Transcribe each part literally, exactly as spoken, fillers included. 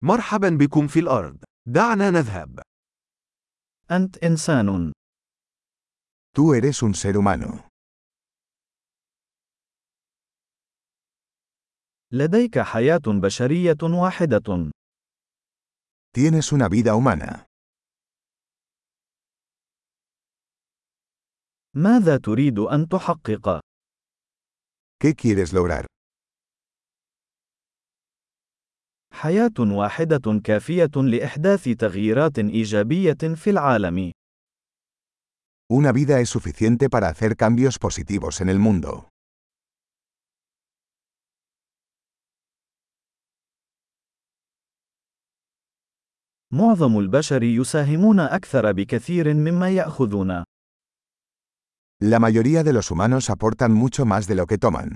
مرحبا بكم في الأرض. دعنا نذهب. أنت إنسان. Tú eres un ser humano. لديك حياة بشرية واحدة. Tienes una vida humana. ماذا تريد أن تحقق؟ ¿Qué quieres lograr? حياة واحدة كافية لإحداث تغييرات إيجابية في العالم. Una vida es suficiente para hacer cambios positivos en el mundo. معظم البشر يساهمون أكثر بكثير مما يأخذون. La mayoría de los humanos aportan mucho más de lo que toman.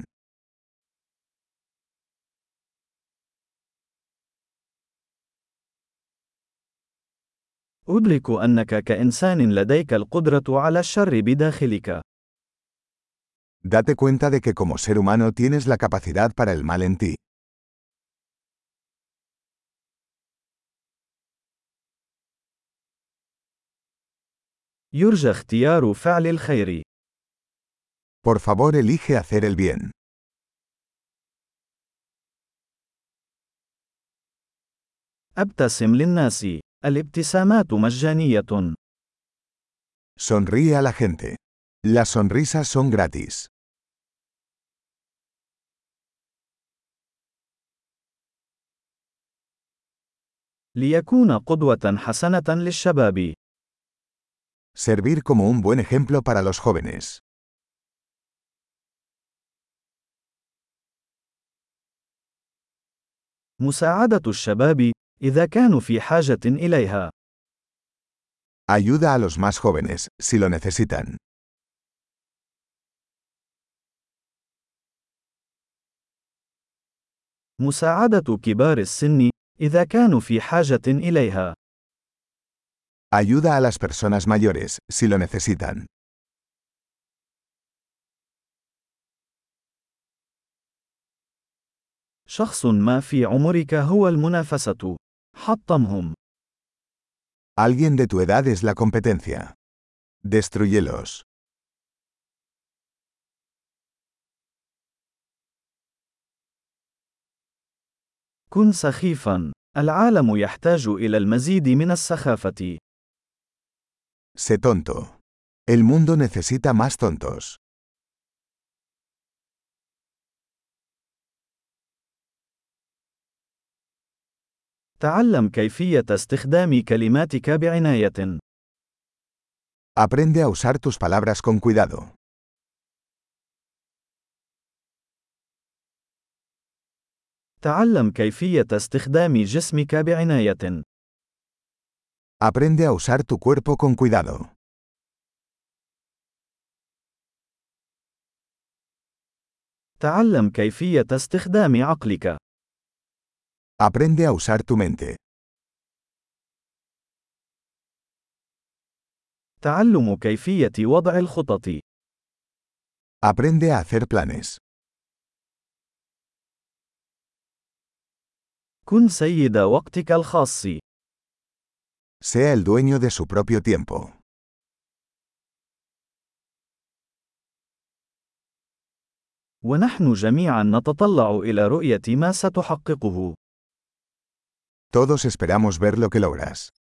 أدرك أنك كإنسان لديك القدرة على الشر بداخلك. Date cuenta de que como ser humano tienes la capacidad para el mal en ti. يرجى اختيار فعل الخير. Por favor, elige hacer el bien. أبتسم للناس. الابتسامات مجانية. Sonríe a la gente. Las sonrisas son gratis. ليكون قدوة حسنة للشباب. Servir como un buen ejemplo para los jóvenes. مساعدة الشباب إذا كانوا في حاجة إليها. Ayuda a los más jóvenes, si lo necesitan. مساعدة كبار السن إذا كانوا في حاجة إليها. Ayuda a las personas mayores, si lo necesitan. شخص ما في عمرك هو المنافسة. حطمهم. Alguien de tu edad es la competencia. Destruyelos. كن سخيفا. العالم يحتاج إلى المزيد من السخافة. Sé tonto. El mundo necesita más tontos. تعلم كيفية استخدام كلماتك بعناية. Aprende a usar tus palabras con cuidado. تعلم كيفية استخدام جسمك بعناية. Aprende a usar tu cuerpo con cuidado. تعلم كيفية استخدام عقلك. Aprende a usar tu mente. تعلم كيفية وضع الخطط. Aprende a hacer planes. كن سيد وقتك الخاص. Sea el dueño de su propio tiempo. ونحن جميعا نتطلع إلى رؤية ما ستحققه. Todos esperamos ver lo que logras.